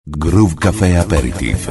Groove Café Aperitif.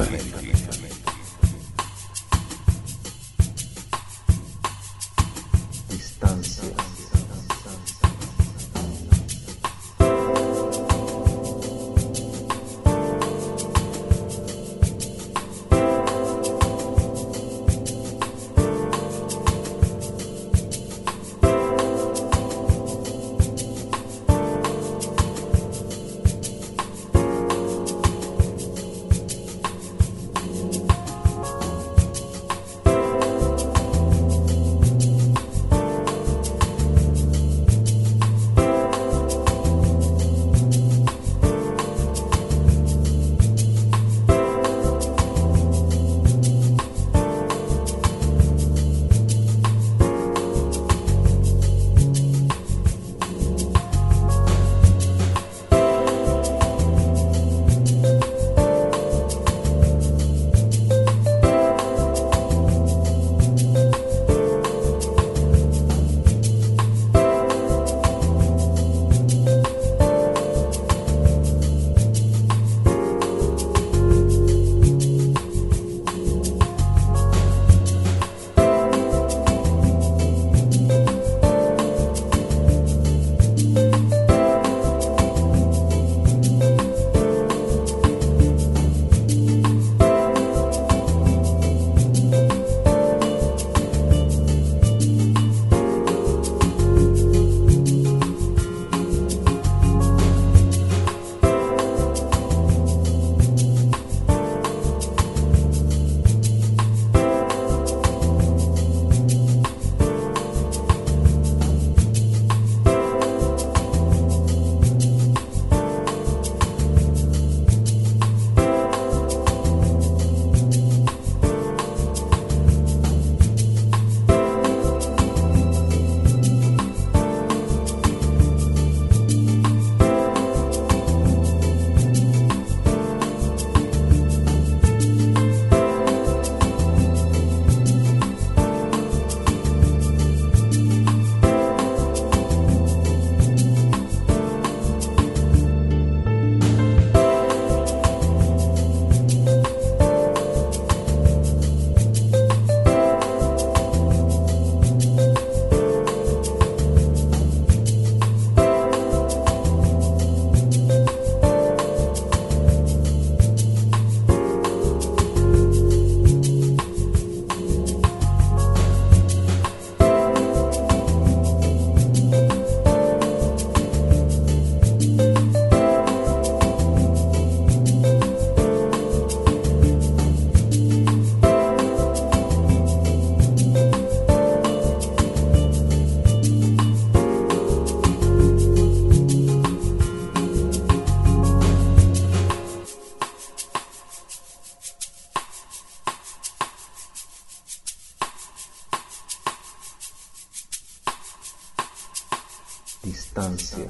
Distancia.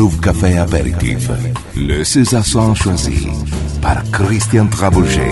Move Café Apéritif. Le César choisi par Christian Trabouget.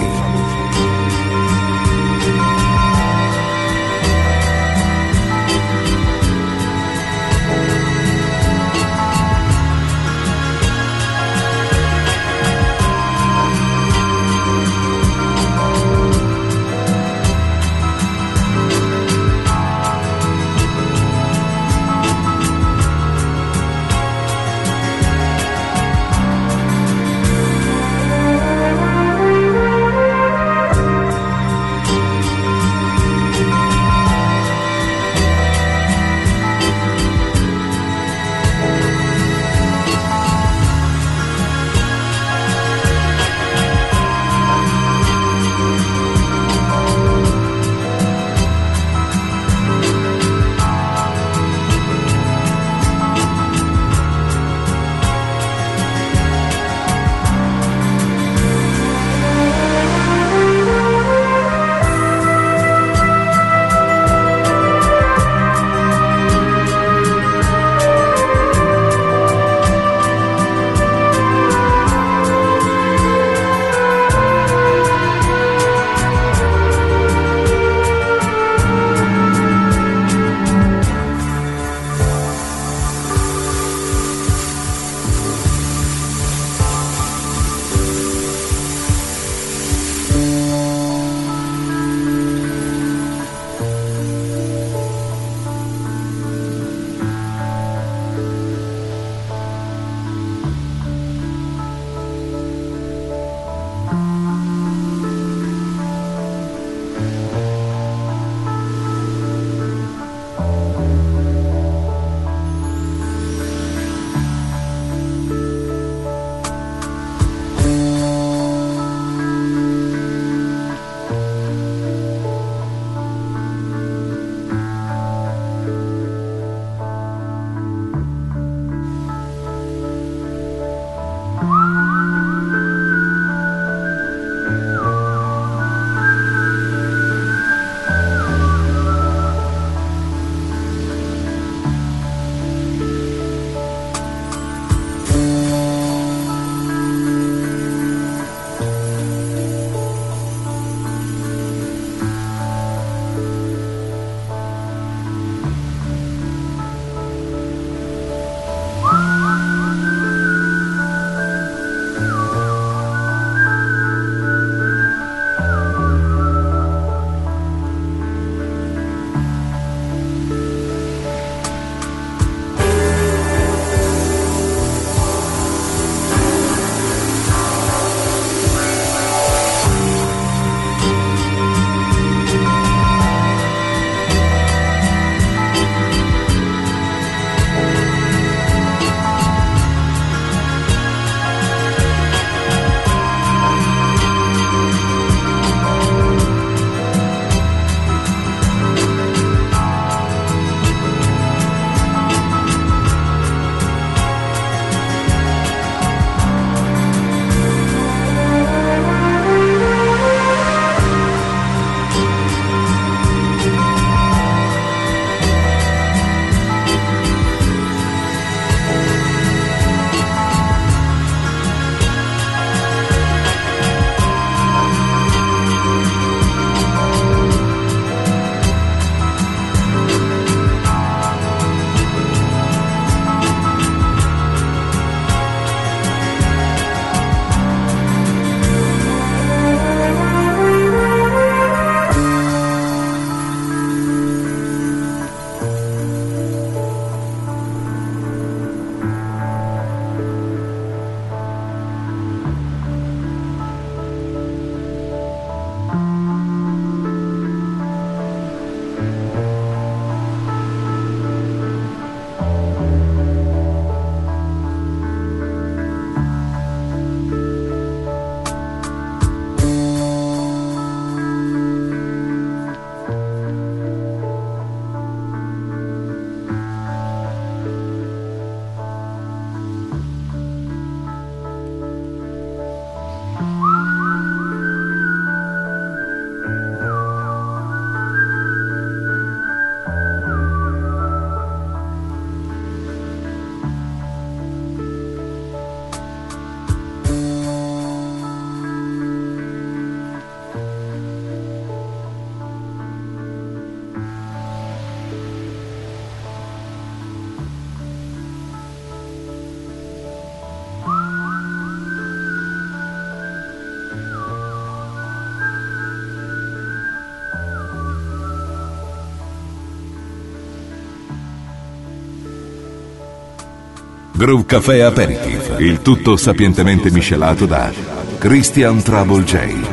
Groove Café Aperitif, il tutto sapientemente miscelato da Christian Trouble J.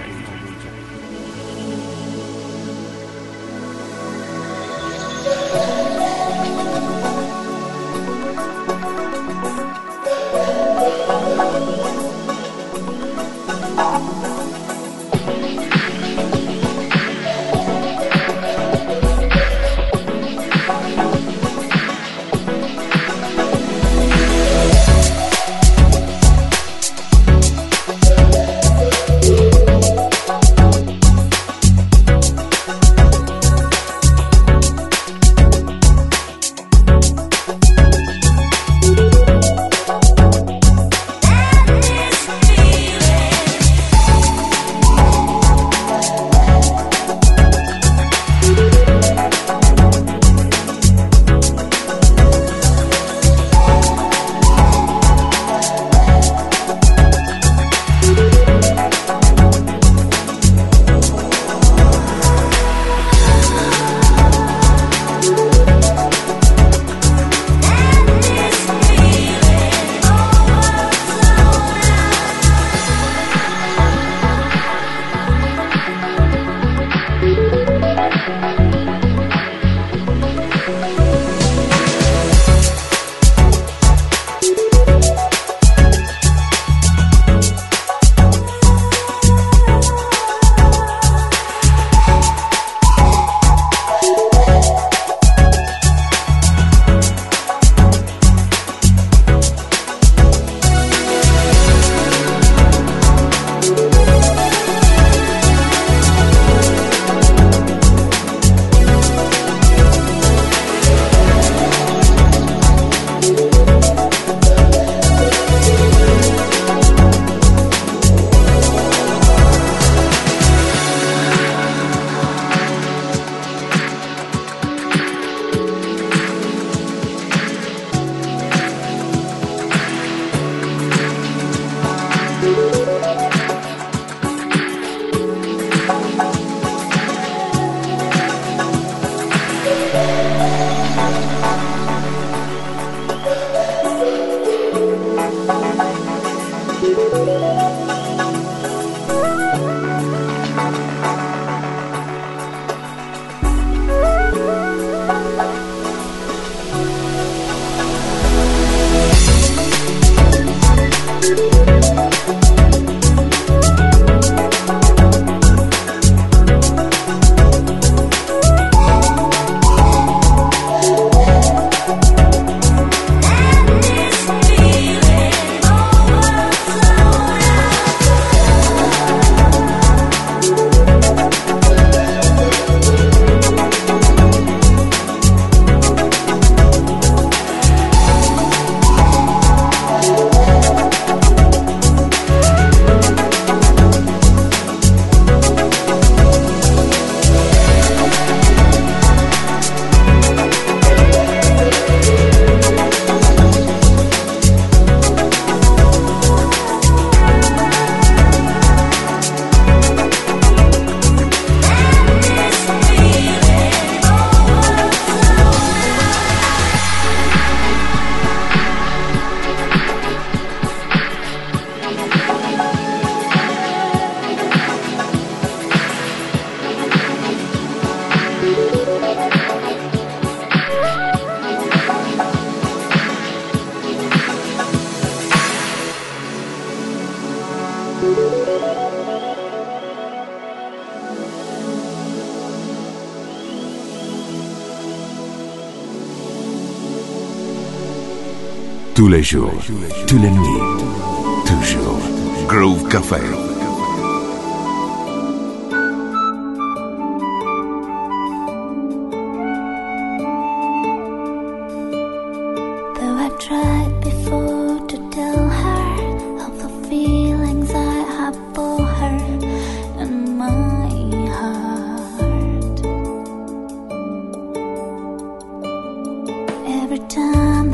Tous les jours, toutes les nuits, toujours. Groove Café.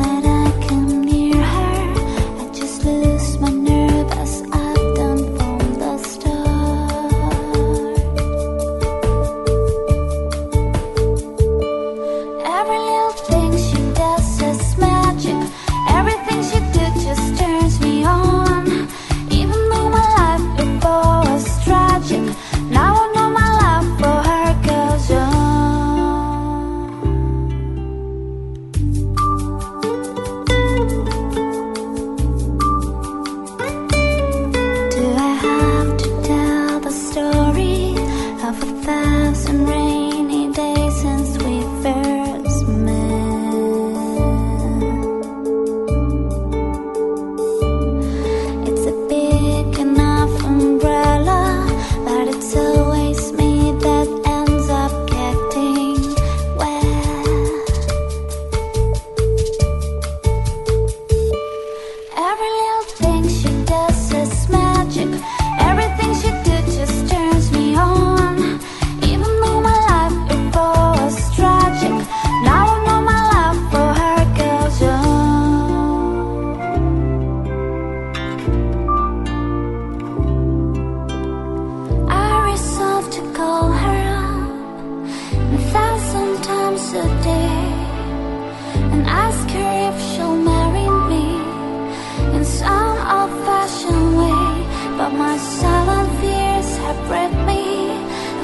From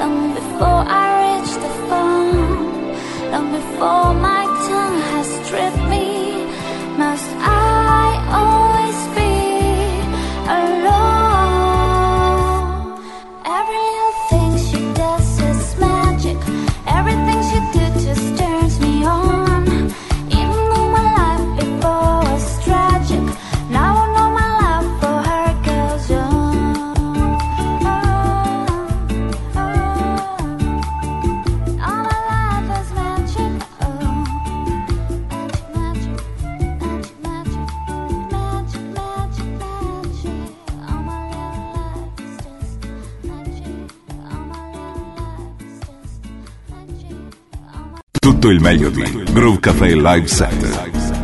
long before I reach the phone, long before my tongue has stripped me. Must I always be alone? Every little thing she does is magic. Everything she did just turns me on. Even though my life before was tragic, now I know my love for her goes on. All my life is magic. Magic, magic, magic, magic, magic, magic, magic. All my little life is just magic. All my little life is just magic. All my Tutto il meglio di Groove Café Live Set.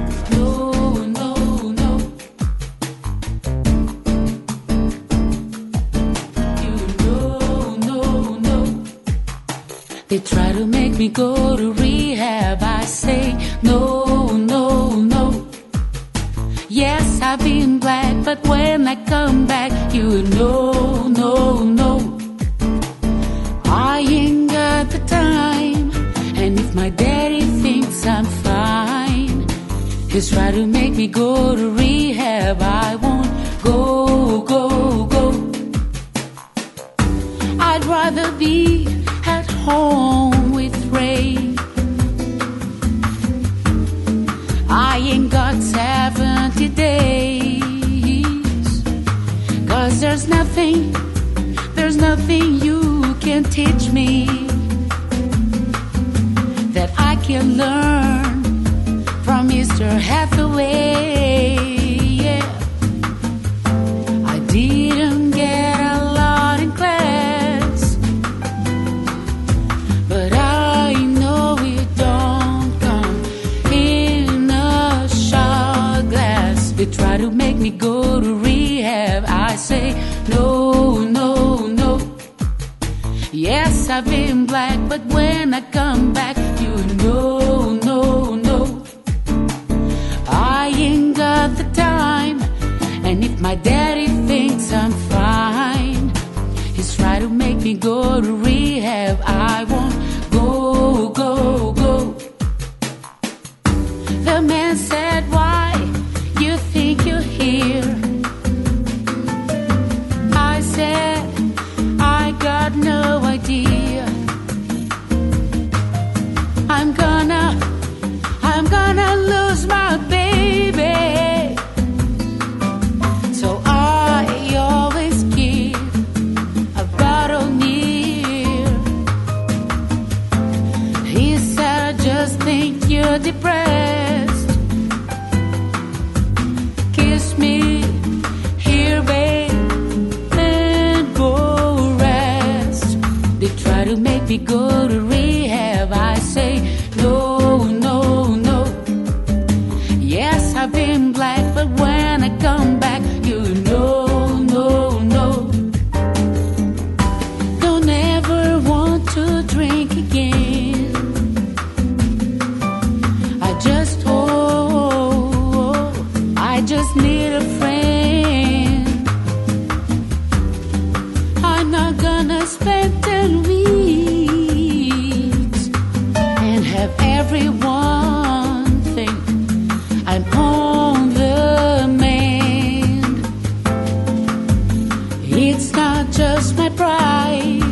They try to make me go to rehab. I say no, no, no. Yes, I've been black, but when I come back, you know, no, no. I ain't got the time, and if my daddy thinks I'm fine, he's trying to make me go to rehab. I won't go, go, go. I'd rather be at home with Ray. I ain't got 70 days, 'cause there's nothing you can teach me that I can learn from Mr. Hathaway. Yeah, I didn't get a lot in class, but I know it don't come in a shot glass. They try to make me go to rehab. I say no, no, no. Yes, I've been black, but when I come back, you know, no, no. I ain't got the time, and if my daddy thinks I'm fine, he's trying to make me go to rehab. I won't go, go, go. The man said, why you think you're here? I said, I got no idea. I'm gonna lose my baby. So I always keep a bottle near. He said, I just think you're depressed. Kiss me here, babe, and go rest. They try to make me go to rehab. I say no, no, no. Yes, I've been black, but when I come back, you know, no, no. Don't ever want to drink again. I just need a friend. I'm not gonna spend 10 weeks and have everyone think I'm on the mend. It's not just my pride,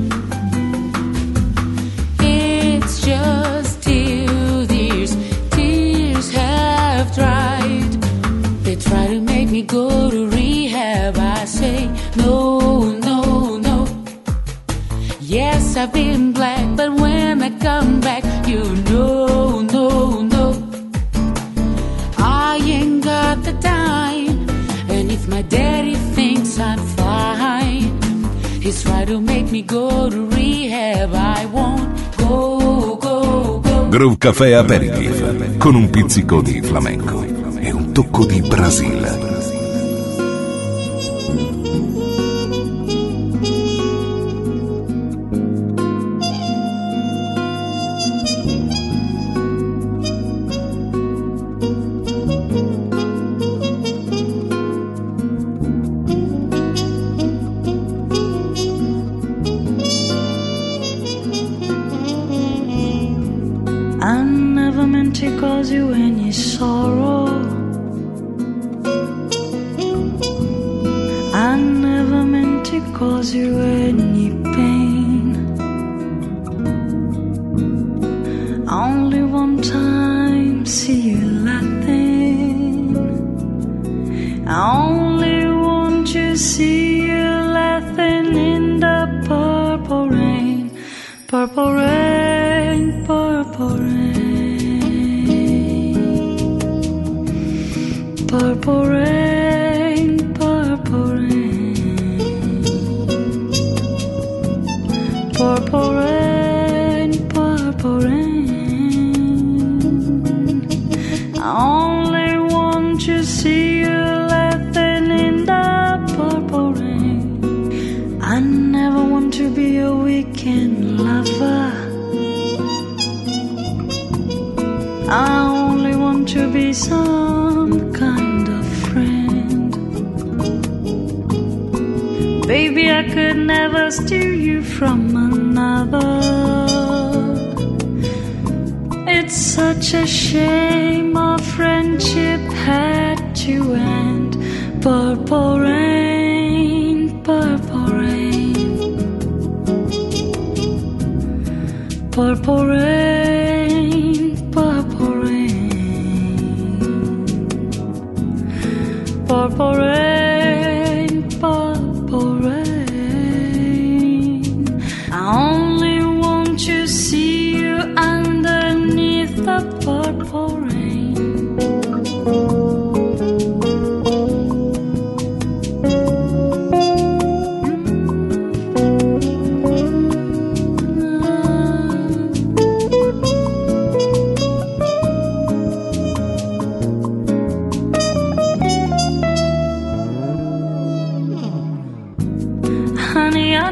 it's just till these tears have dried. They try to make me go to rehab. I say no, no, no. Yes, I've been black, but when I come back, you know, no, no. I ain't got the time, and if my daddy thinks I'm fine, he's trying to make me go to rehab. I won't go, go, go. Groove Café Aperitif con un pizzico di flamenco e un tocco di Brasile. meant to cause you any sorrow. I never meant to cause you any pain. Only one time see you laughing. I only want to see you laughing in the purple rain. Purple rain, purple rain. Purple rain, purple rain. Purple rain, purple rain. I only want to see you laughing in the purple rain. I never want to be a weekend lover. I only want to be some kind of friend. Baby, I could never steal you from another. It's such a shame our friendship had to end. Purple rain, purple rain. Purple rain, purple rain. Purple rain, purple rain. I only want to see you underneath the purple rain. Honey, I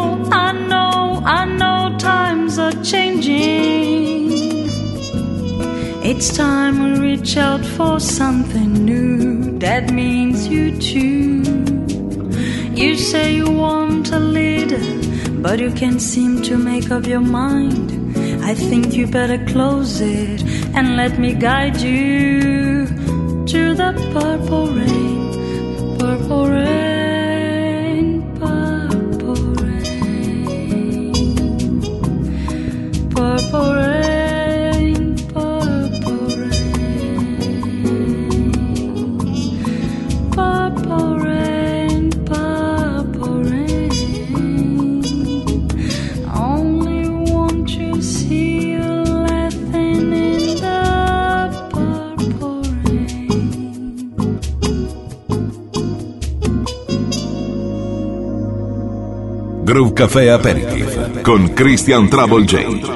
know times are changing. It's time we reach out for something new. That means you too. You say you want a leader, but you can't seem to make up your mind. I think you better close it and let me guide you to the purple rain. Purple rain. Purple rain, purple rain. Purple rain, purple rain. I only want to see you laughing in the purple rain. Groove Café Aperitif con Christian Trouble J.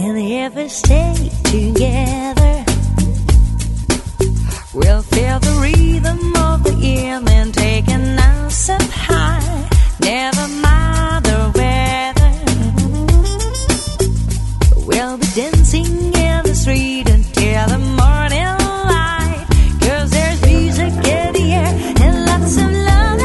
And if we stay together, we'll feel the rhythm of the evening taking us up high. Never mind the weather, we'll be dancing in the street until the morning light. 'Cause there's music in the air and lots of love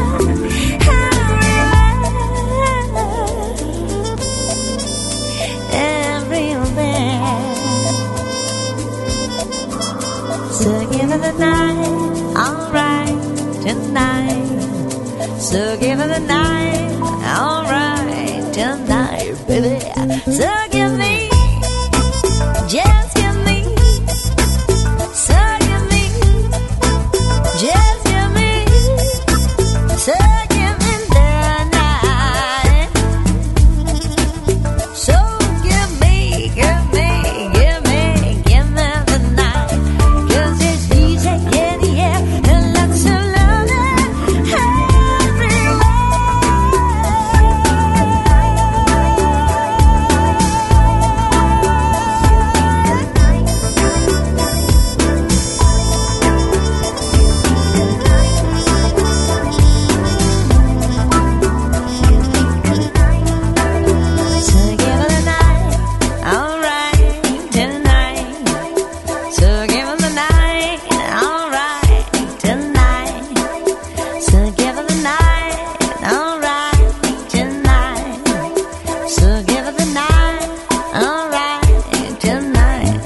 everywhere. So give it the night, alright, tonight. So give it the night, alright, tonight, baby. So give me, just give me, so give me, just give me, so give me the night. So give me, give me, give me, give me the night. 'Cause there's music in the air and lots of love everywhere. So give it the night, alright, tonight. So give it the night, alright, tonight. So give it the night, alright, tonight. So give it the night, alright, tonight.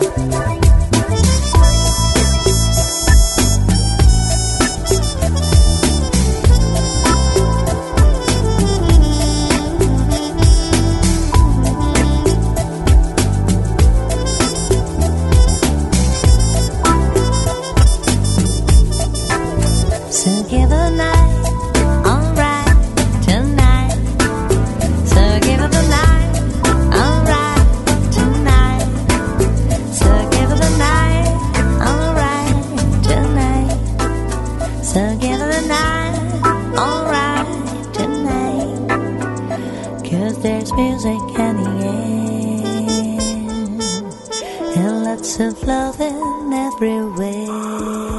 So give it the night, alright, tonight. So give it the night, alright, tonight. So give it the night, alright, tonight. So give it the night, alright, tonight. 'Cause there's music in the air and lots of loving everywhere.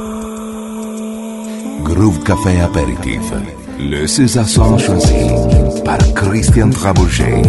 Groove Café Aperitif. Le César Son choisi par Christian Trabouget.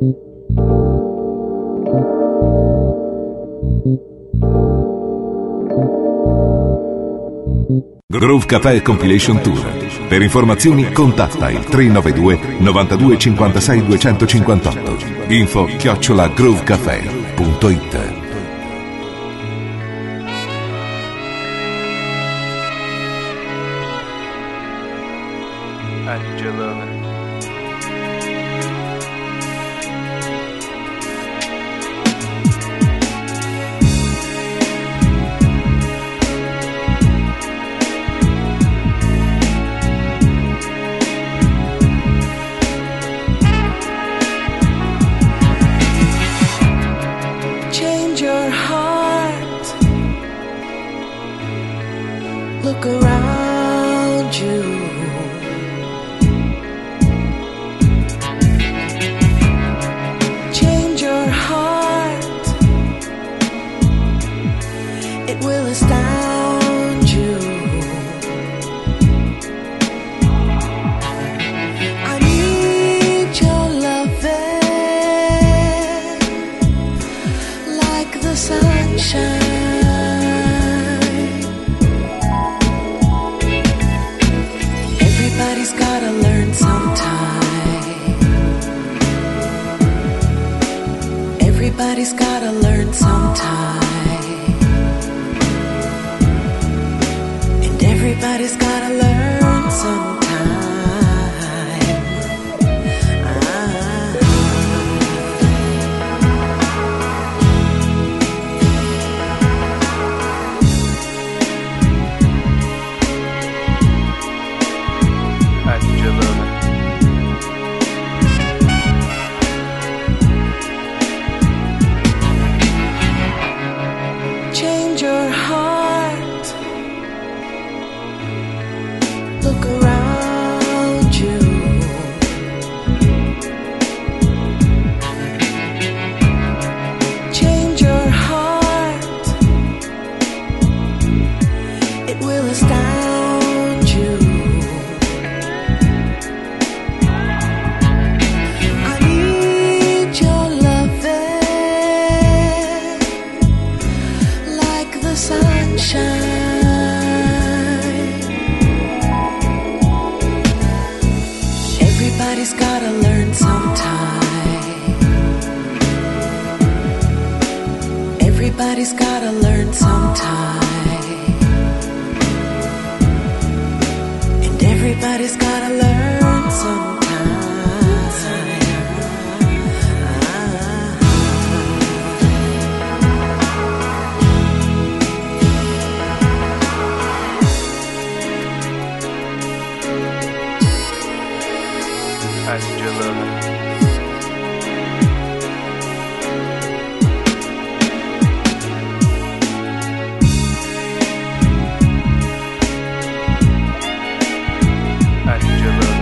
Groove Café Compilation Tour. Per informazioni contatta il 392 92 56 258. info@groovecafé.it. I need your loving. Change your heart. Look around you. Change your heart. It will astound you. I need your loving like the sunshine. Everybody's gotta learn sometime. Everybody's gotta learn sometime. And everybody's gotta learn sometime. I need your loving. Change your heart. Look around you. Change your heart. It will astound you. I need your loving like the sunshine. Everybody's gotta learn sometime. Everybody's gotta learn sometime. And everybody's gotta learn sometime. I need your loving. I need your loving.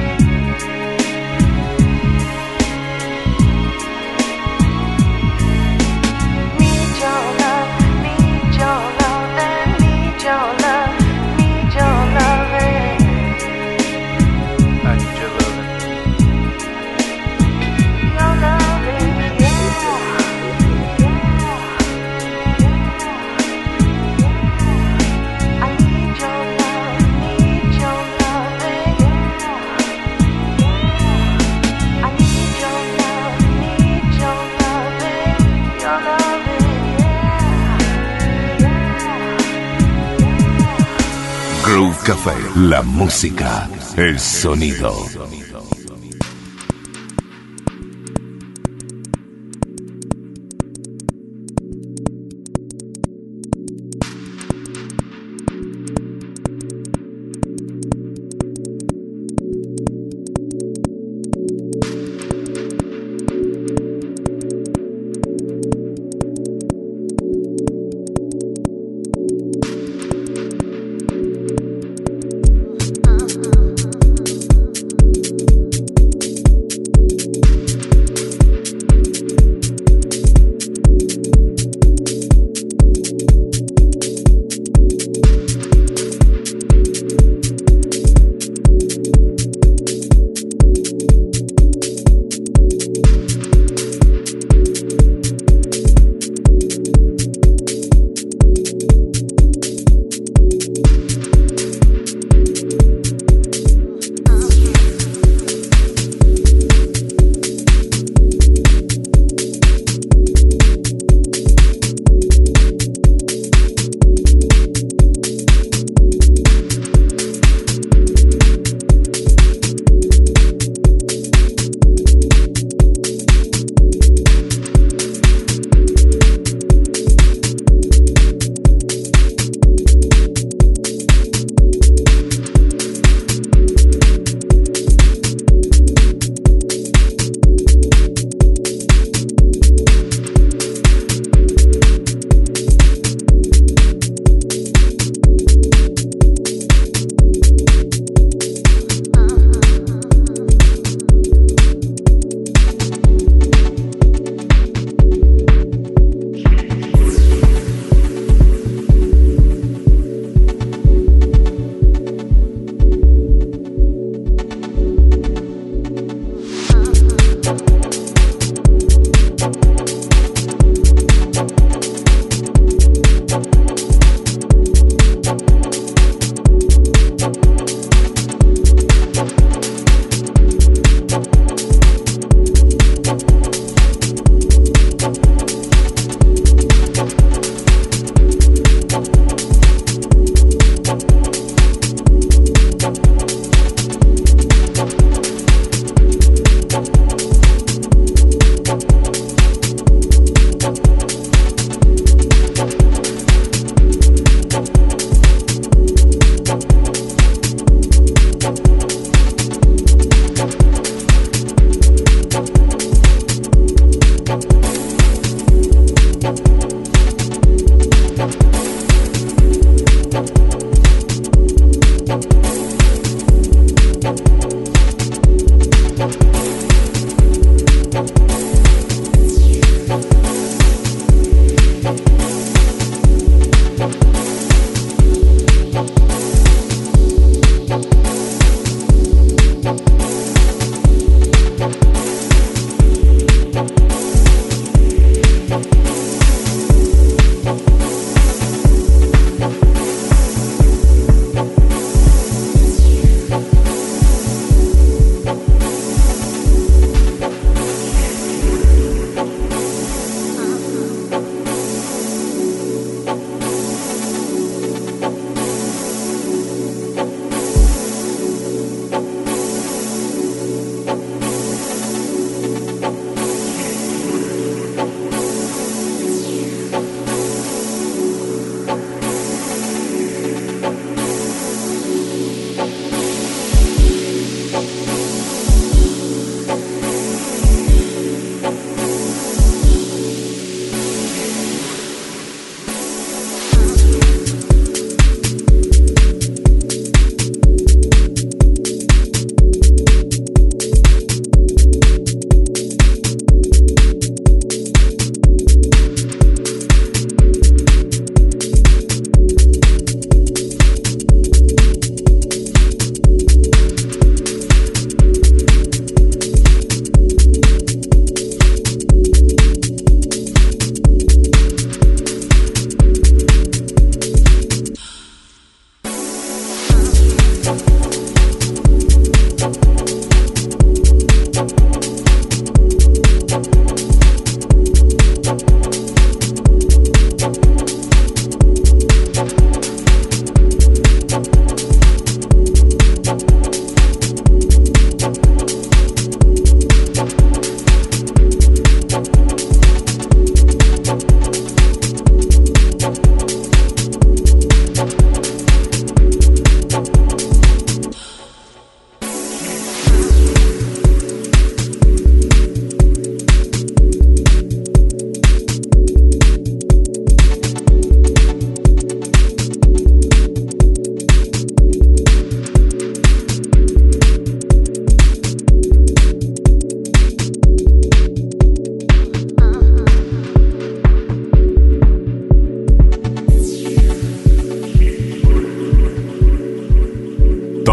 Need your love, need your love, and need your love, need your loving. I need your loving. Your loving, yeah. I need your love, need your loving, I need your love, need your loving, your loving, Groove Café. La música, el sonido.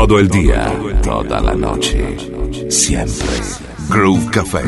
Todo el día, toda la noche, siempre. Groove Café.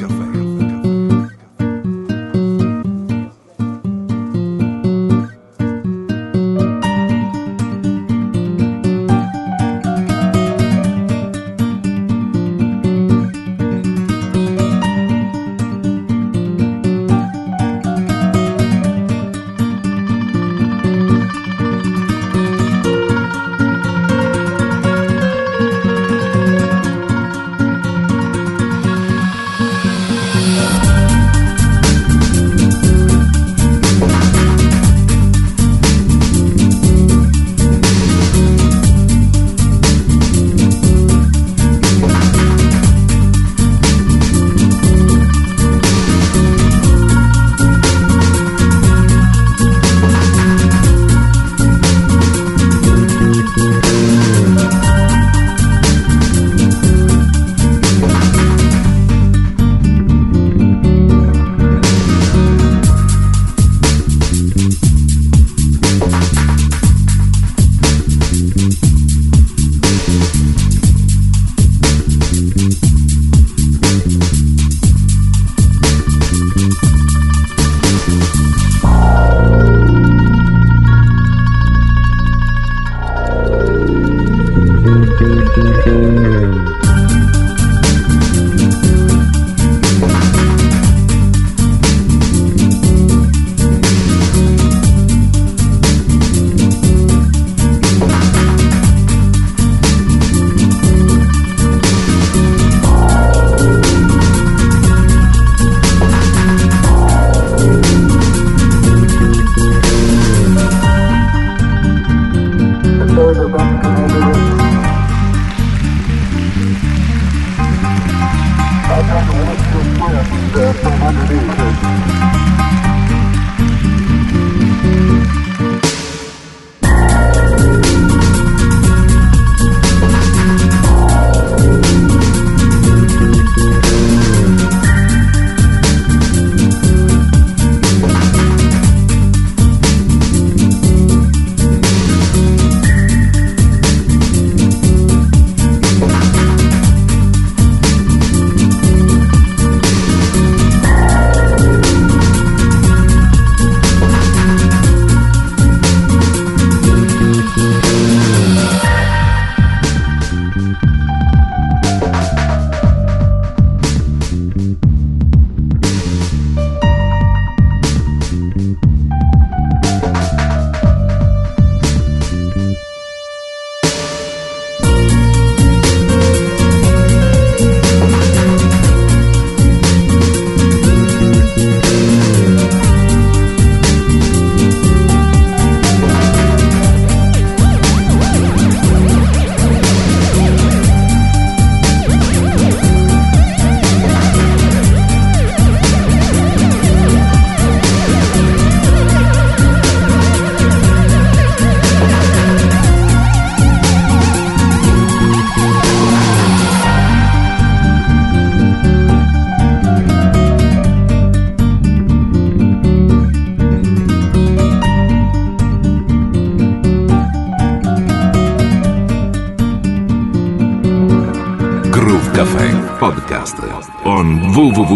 Café Podcast on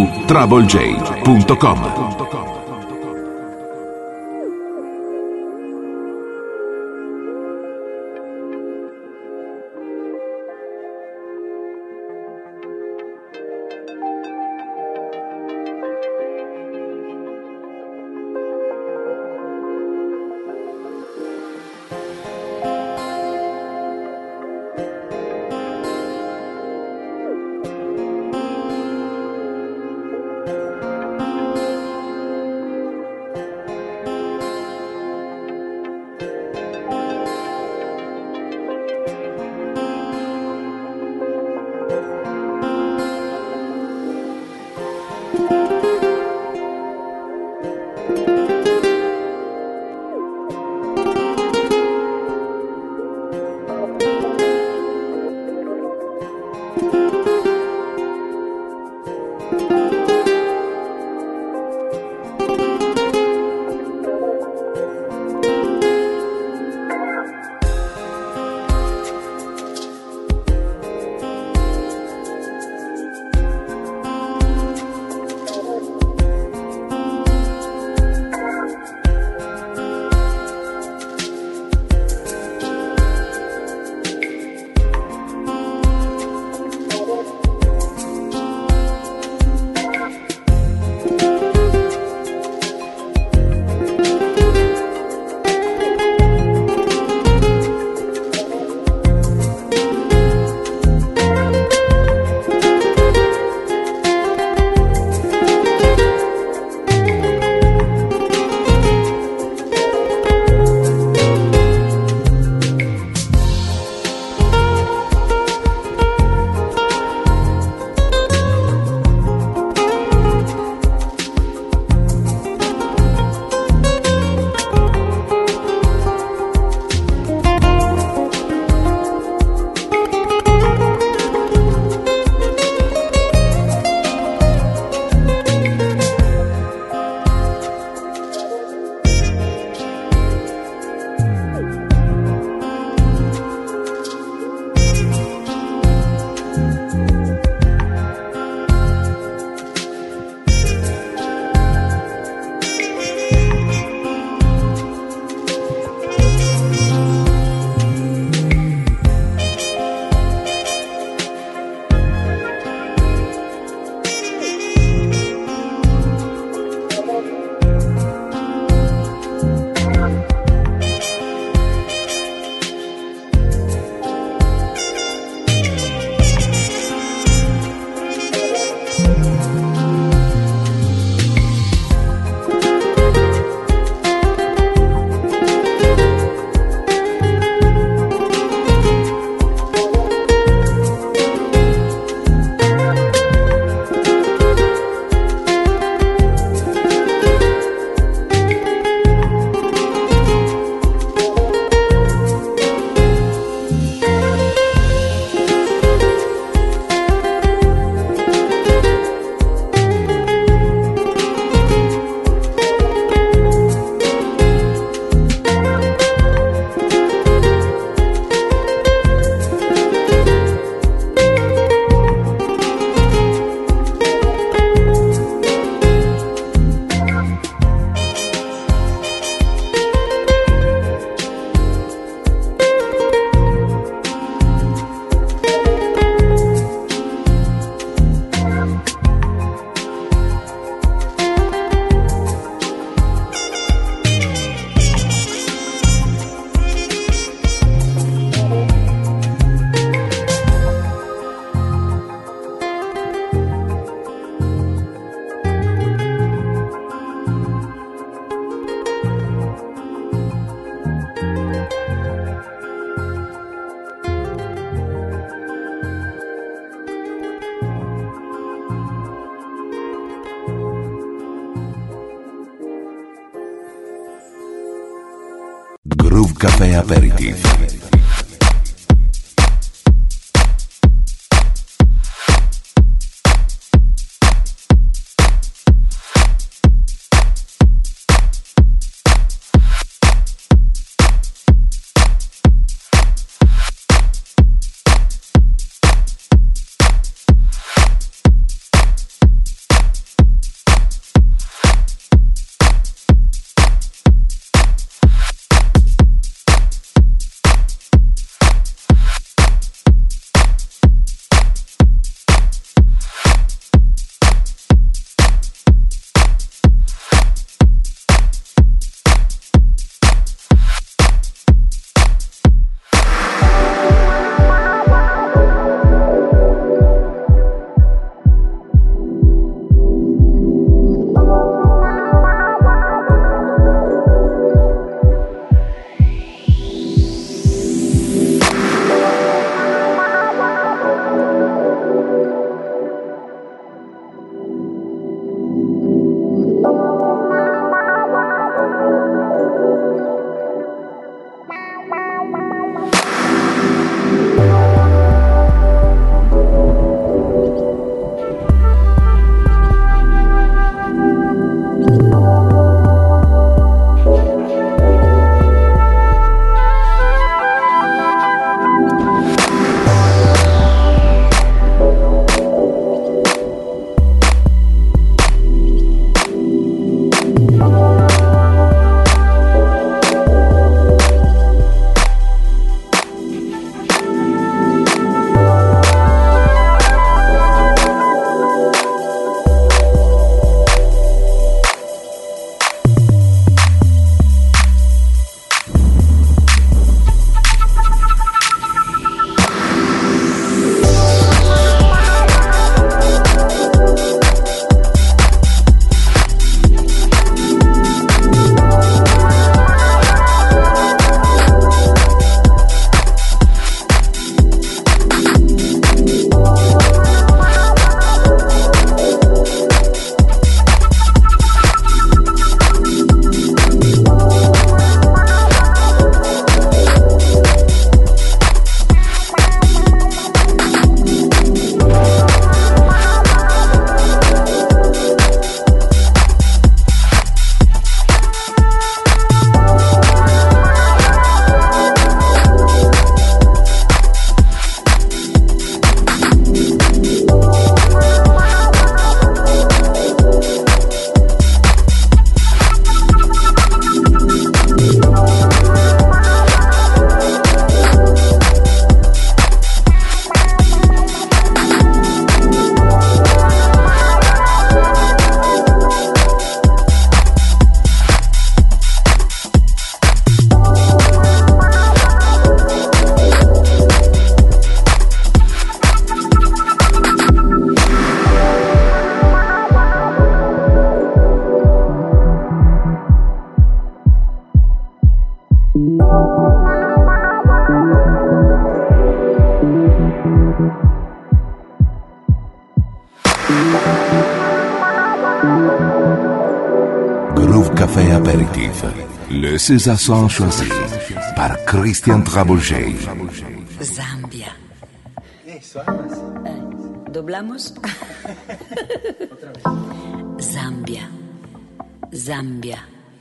www.troublej.com. Groove Café Aperitif. Groove Café Aperitif. Le César Son choisi par Christian Trabouget. Zambia. ¿Doblamos? Zambia. Zambia.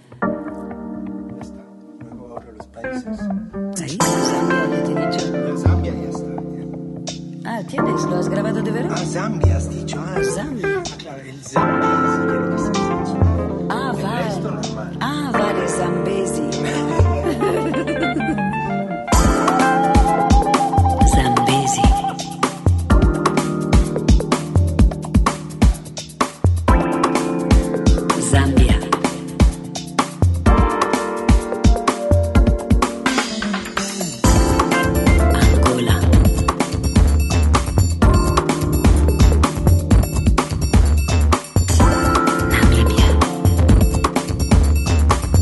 Luego ahora los países. ¿Ahí? Zambia, ya te he dicho. Zambia ya está. Ah, ¿tienes? ¿Lo has grabado de veras? Ah, Zambia has dicho. Ah, Zambia. Ah, claro, el Zambia si quiere que se censure. Ah, El vale. resto normal. Ah, vale, Zambesi. Zambesi. Zambia. Angola. Namibia.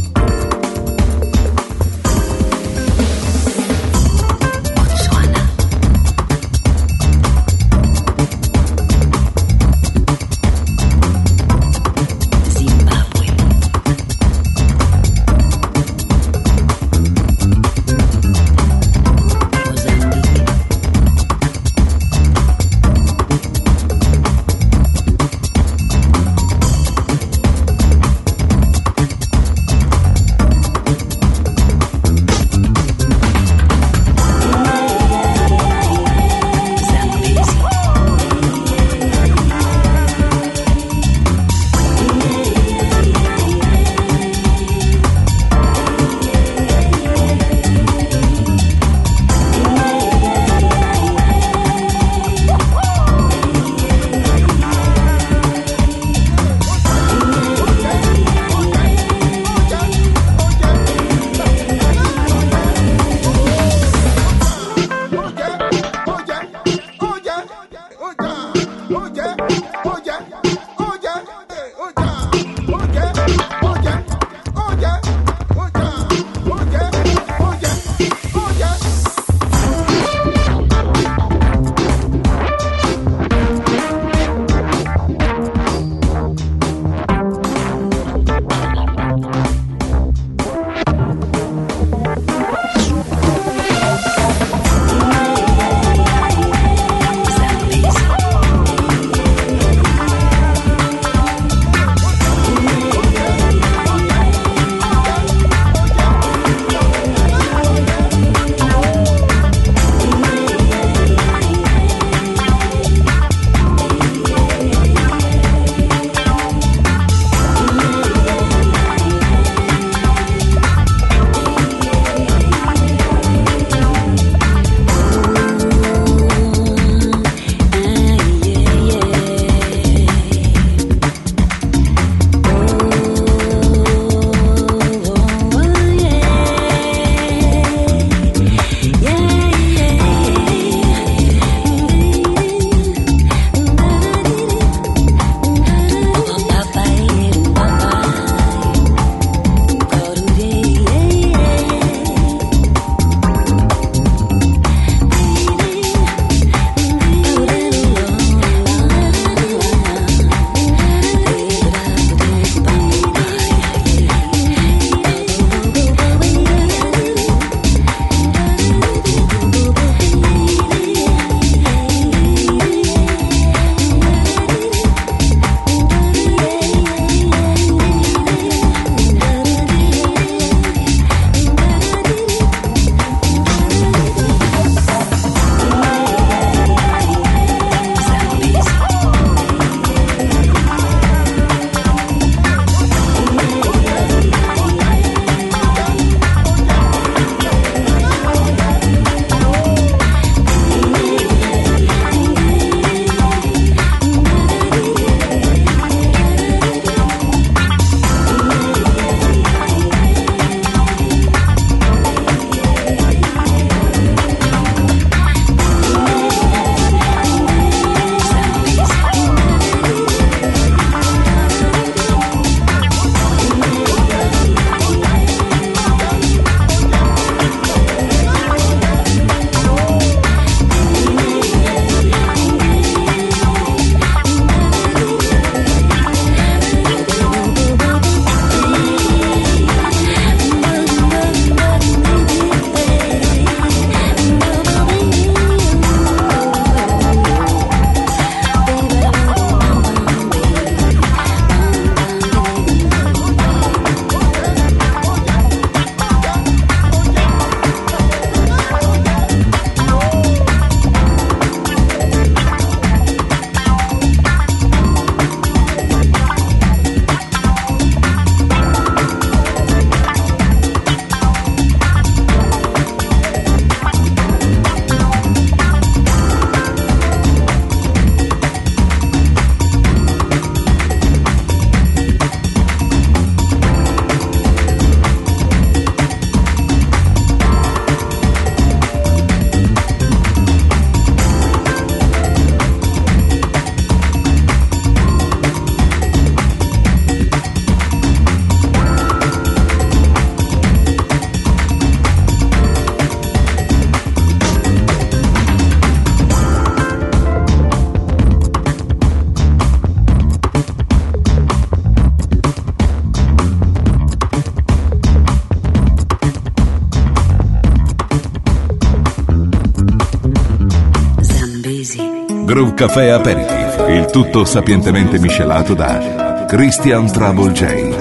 Groove Café Aperitif, il tutto sapientemente miscelato da Christian Trouble J.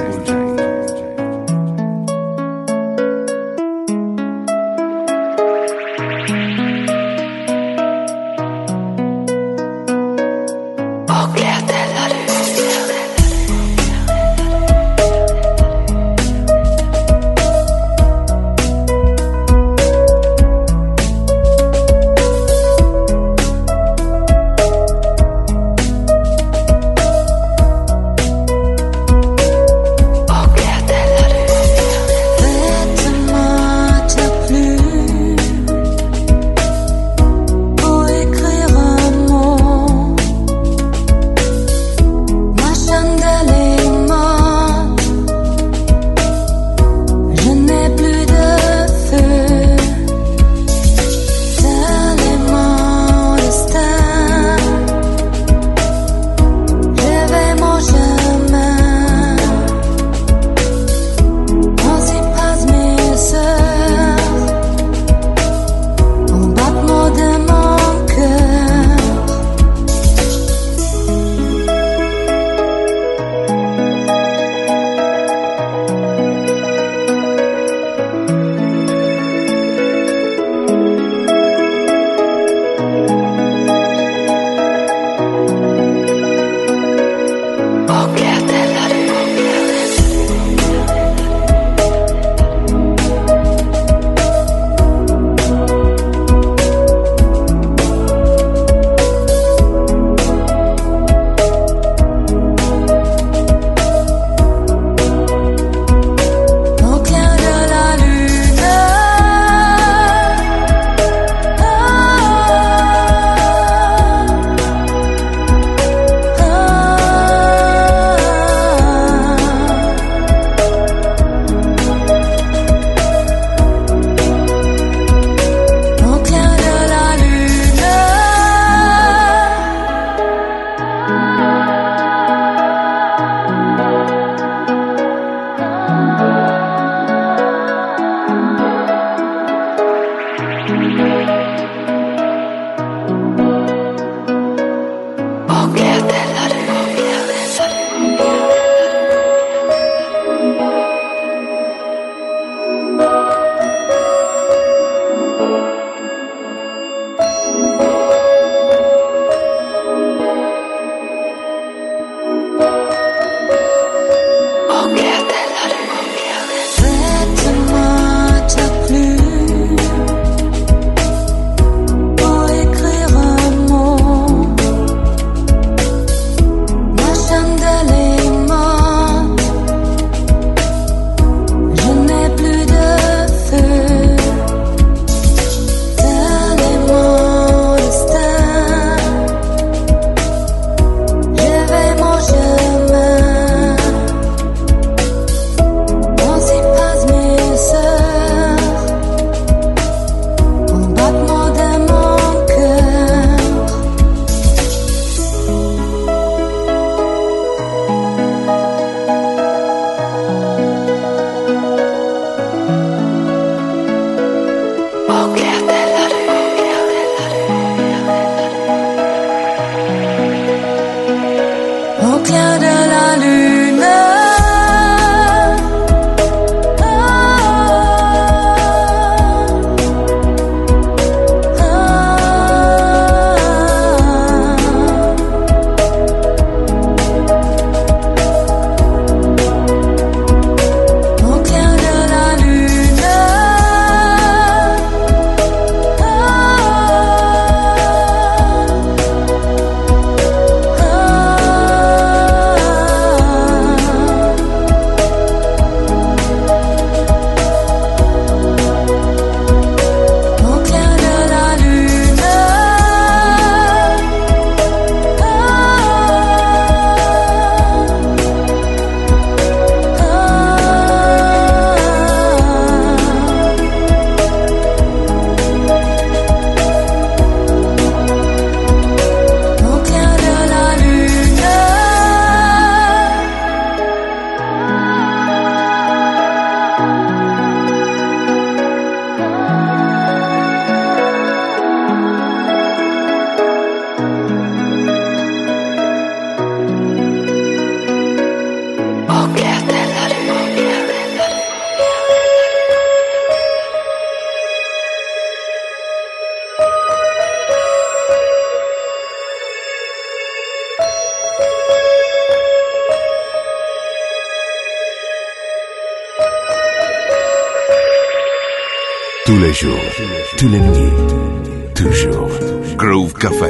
Tous les jours, tous les nuits, toujours. Groove Café.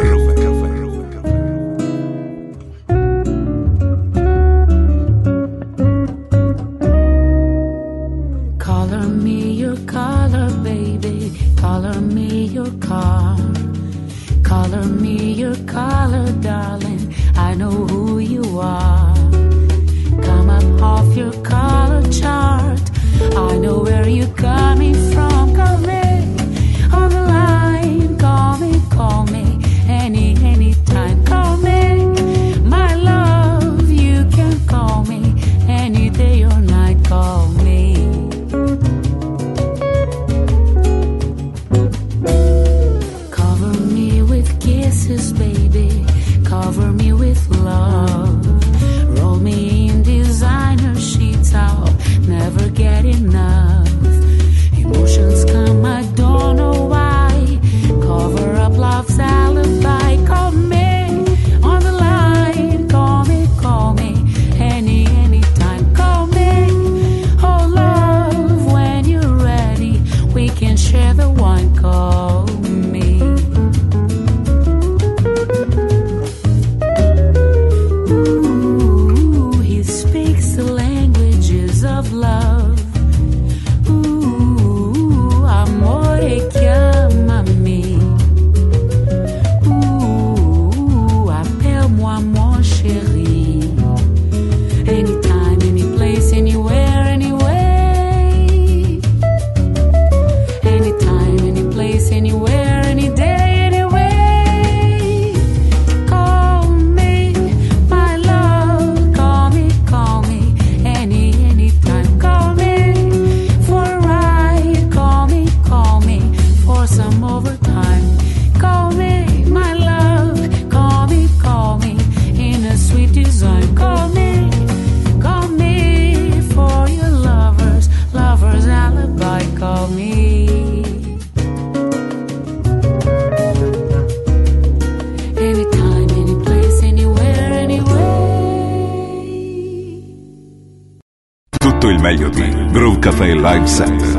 Color me your color, baby. Color me your car. Color me your color, darling. I know who you are. Come up off your color chart. I know where you're coming from. Call me on the line. Call me anytime. Call me, my love. You can call me any day or night. Call me. Cover me with kisses, baby. Cover me with love. Roll me in designer sheets. I'll never get enough. Emotions come, I don't know why. Cover up love's alibi. Call me on the line. Call me anytime. Call me, oh love, when you're ready. We can share the wine. Call me. Ooh, he speaks the languages of love. Ooh, amore, chiamami. Ooh, appelle-moi mon chéri. Anytime, any place, anywhere, anyway. Anytime, any place, anywhere, any day, anyway. Call me, my love. Call me, anytime. Call me for a ride. Call me for some overtime. Call me, my love. Call me in a sweet design. Call me for your lover's alibi. Call me. Anytime, any place, anywhere, anyway. Tutto il meglio di Groove Café Live Set.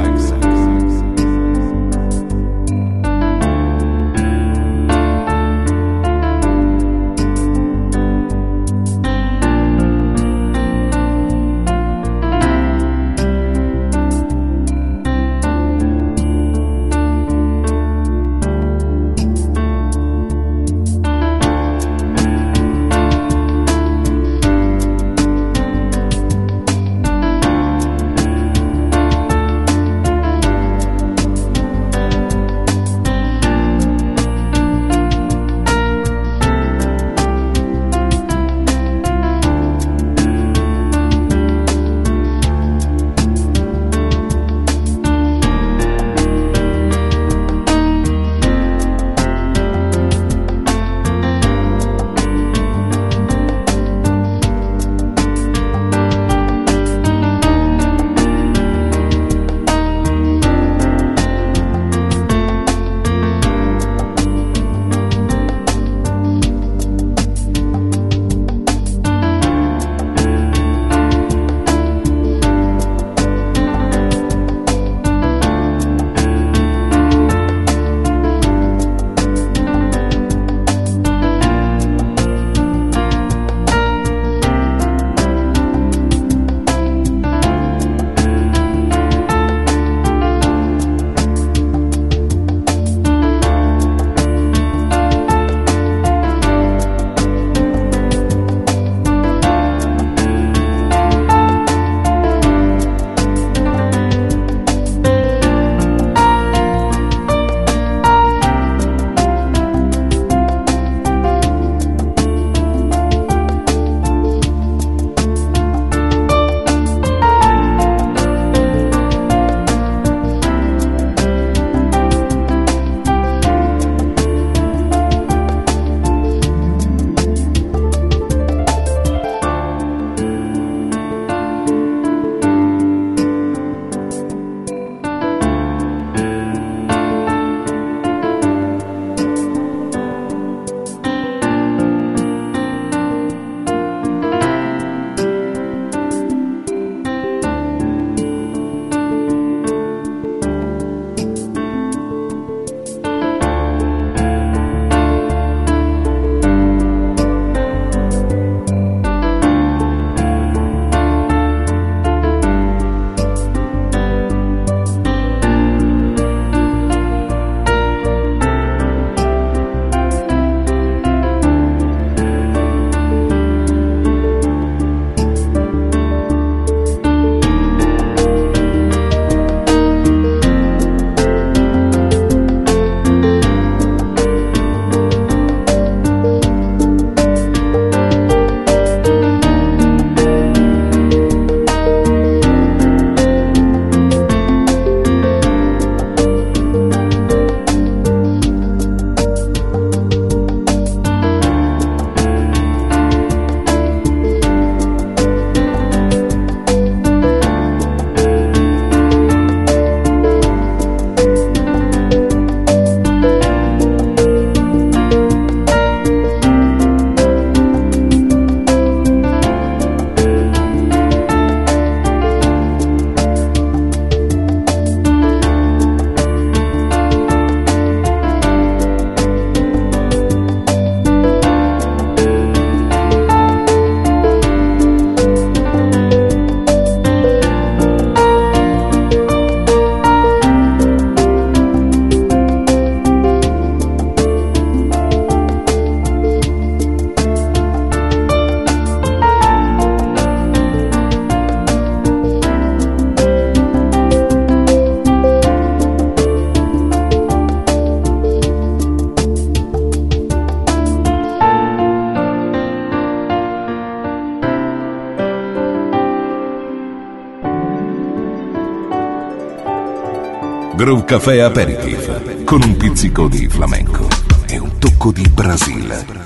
Groove Café Aperitif, con un pizzico di flamenco e un tocco di Brasile.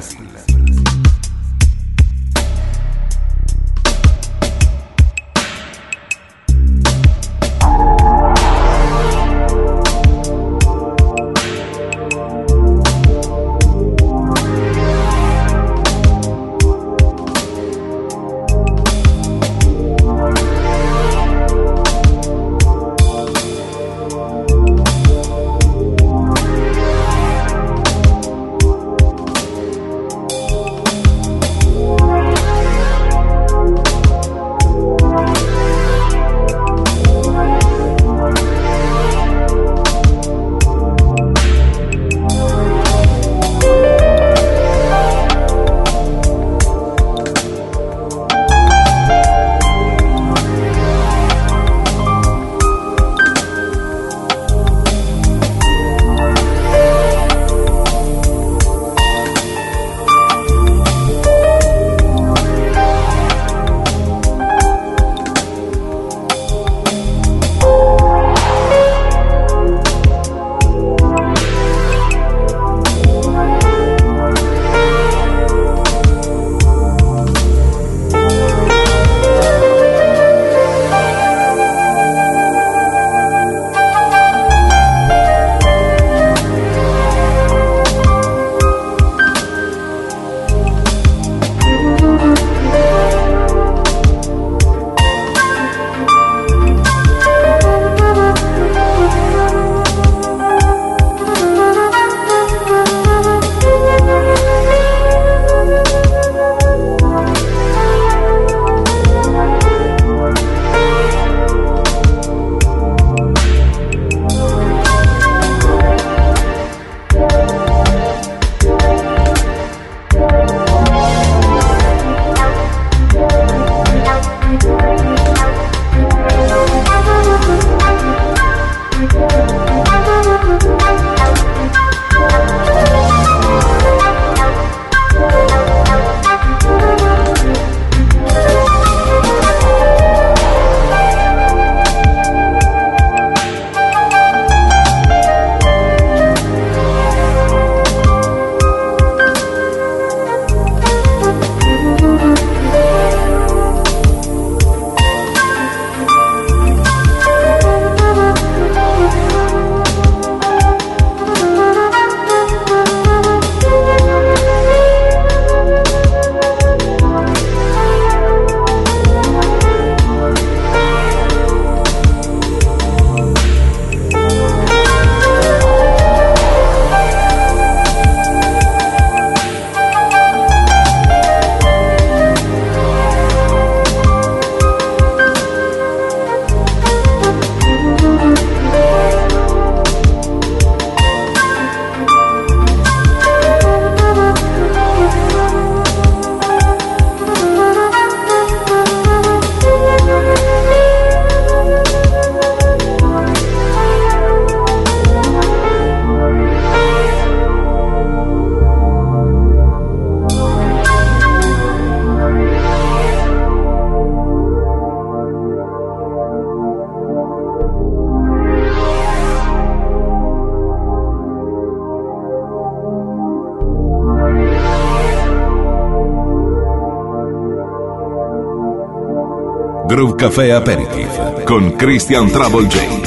Groove Café Aperitif con Christian Trouble J.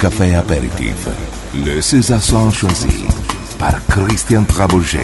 Café Apéritif. Le César Son choisi par Christian Trabouget.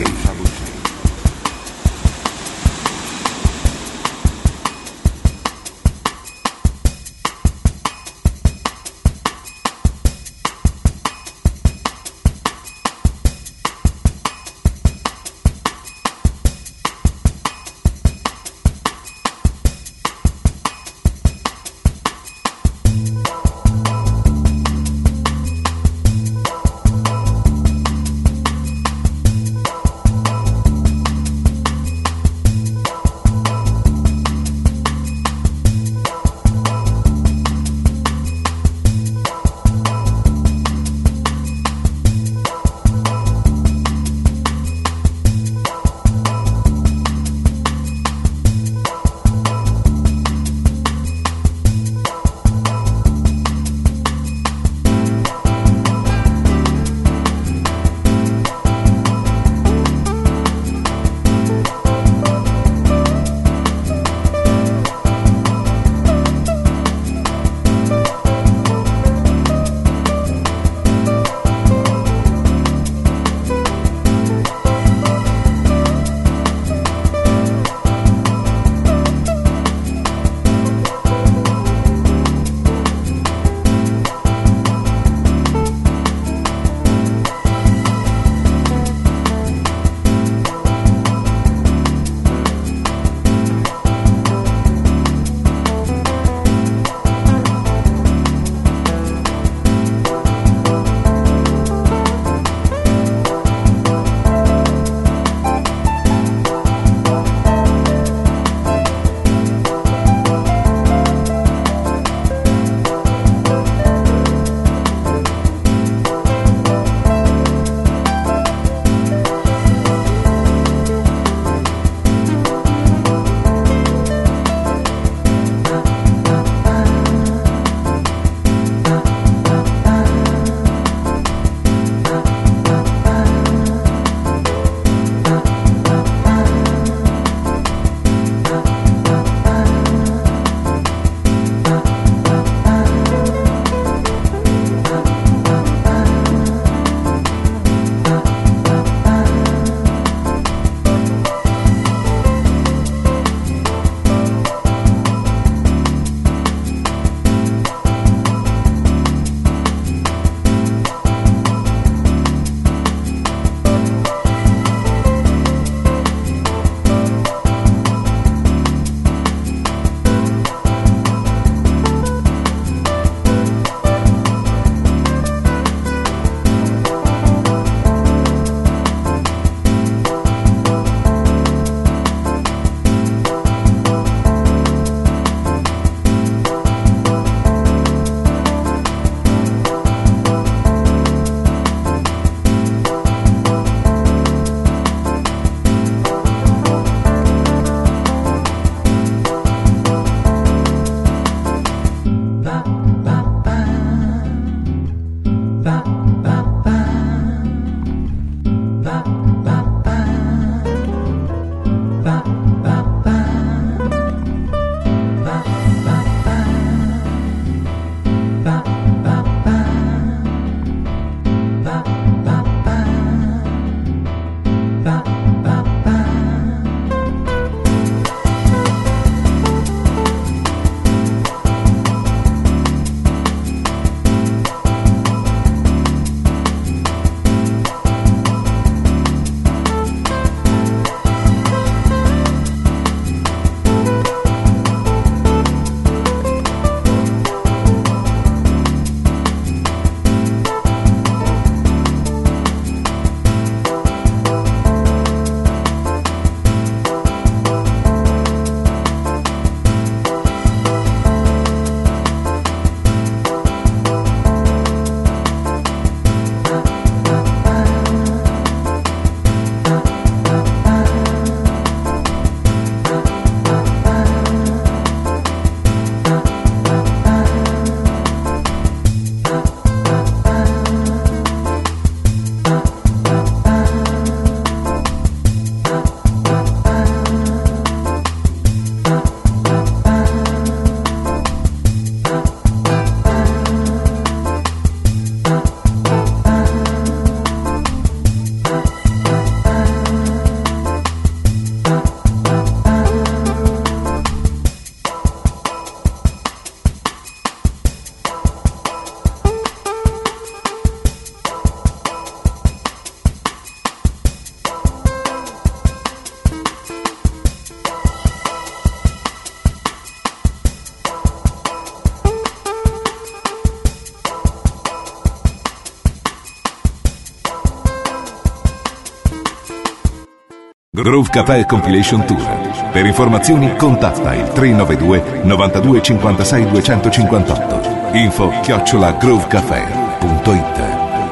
Groove Café Compilation Tour. Per informazioni contatta il 392 92 56 258. info@groovecafé.it.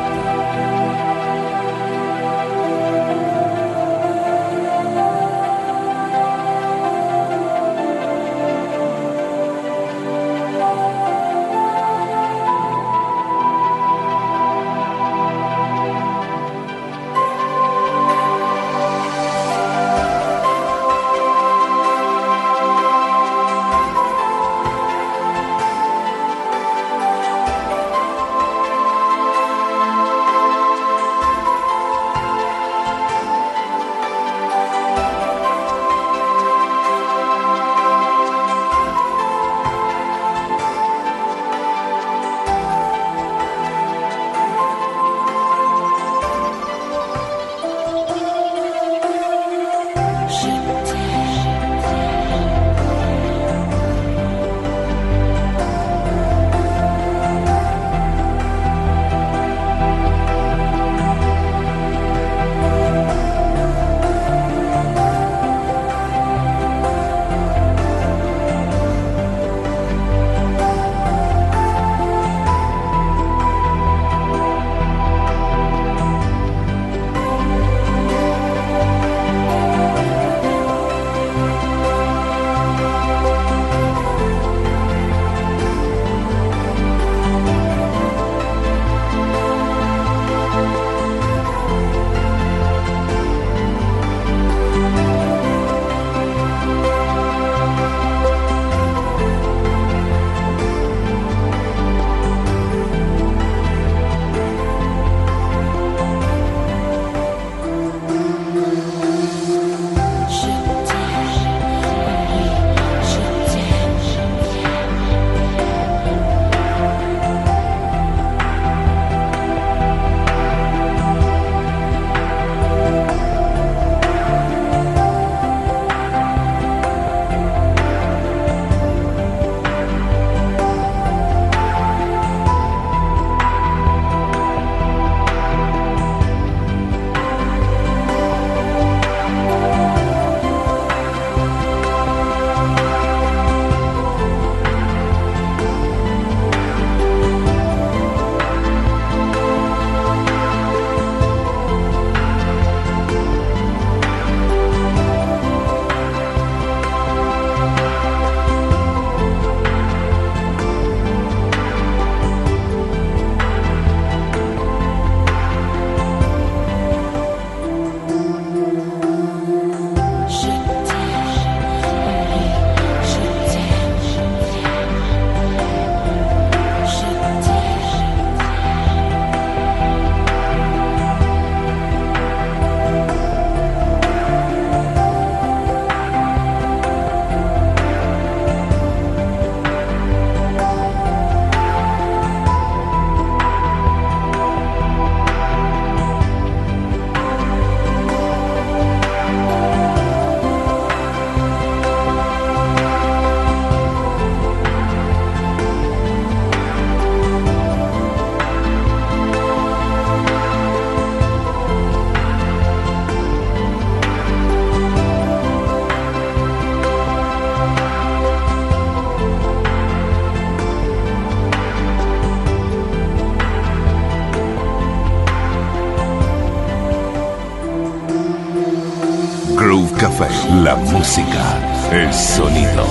Groove Café, la música, el sonido.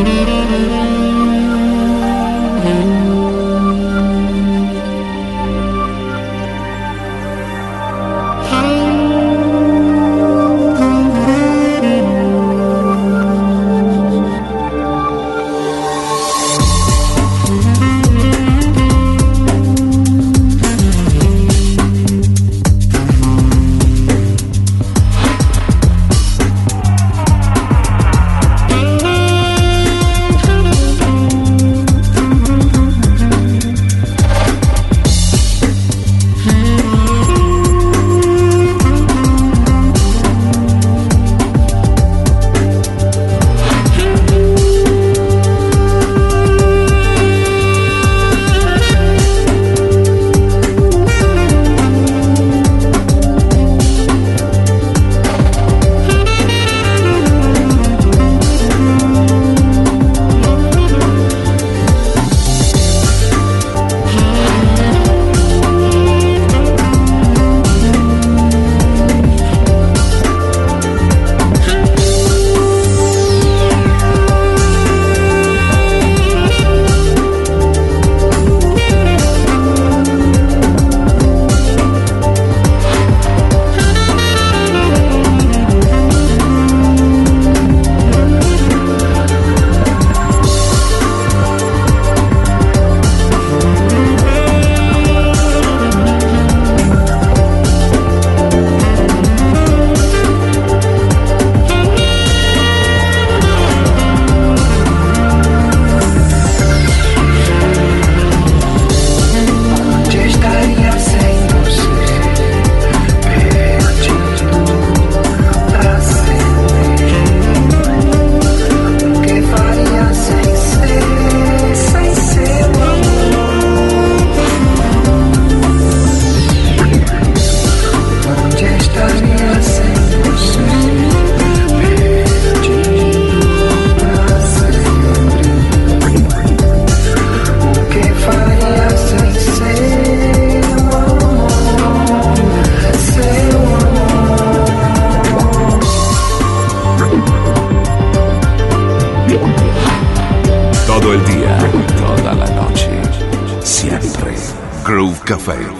Groove Café.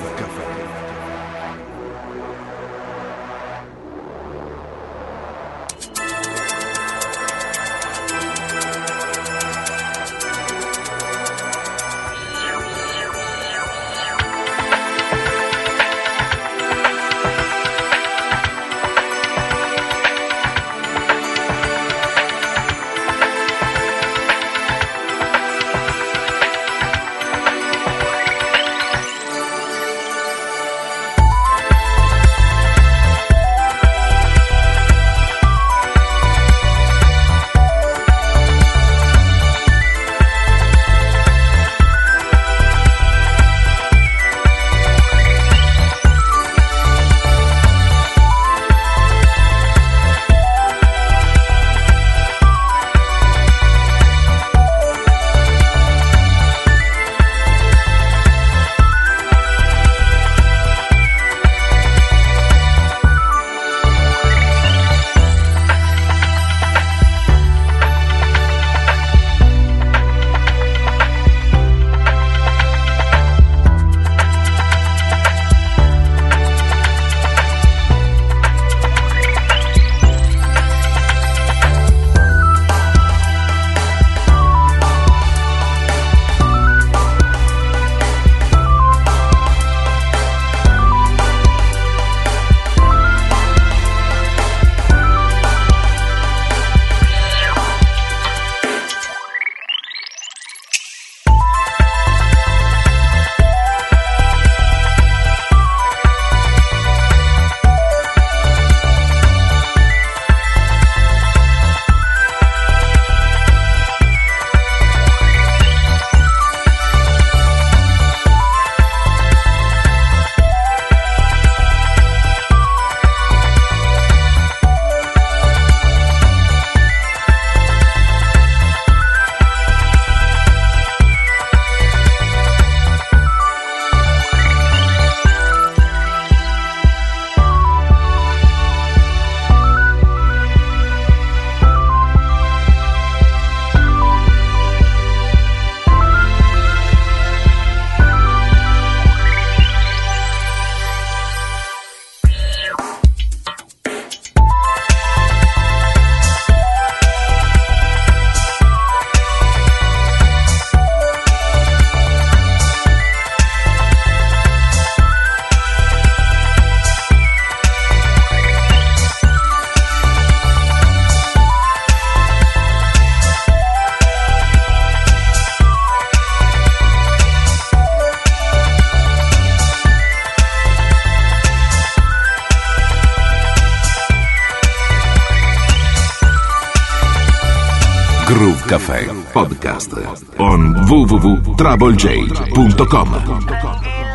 Caffè Podcast on www.troublej.com.